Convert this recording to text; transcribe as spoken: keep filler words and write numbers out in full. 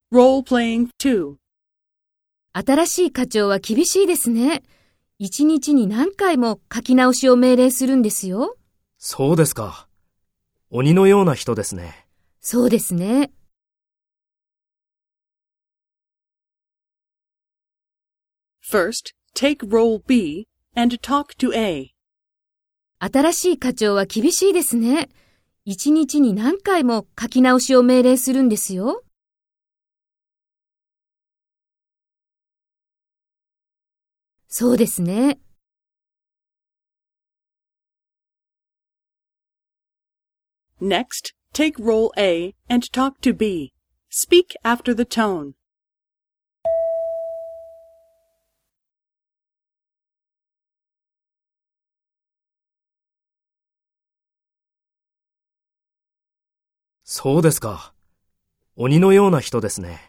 Role-playing two. 新しい課長は厳しいですね。一日に何回も書き直しを命令するんですよ。 そうですか。鬼のような人ですね。 そうですね。 First, take role B and talk to A. 新しい課長は厳しいですね。一日に何回も書き直しを命令するんですよ。そうですね。 Next, take role A and talk to B. Speak after the tone. そうですか。鬼のような人ですね。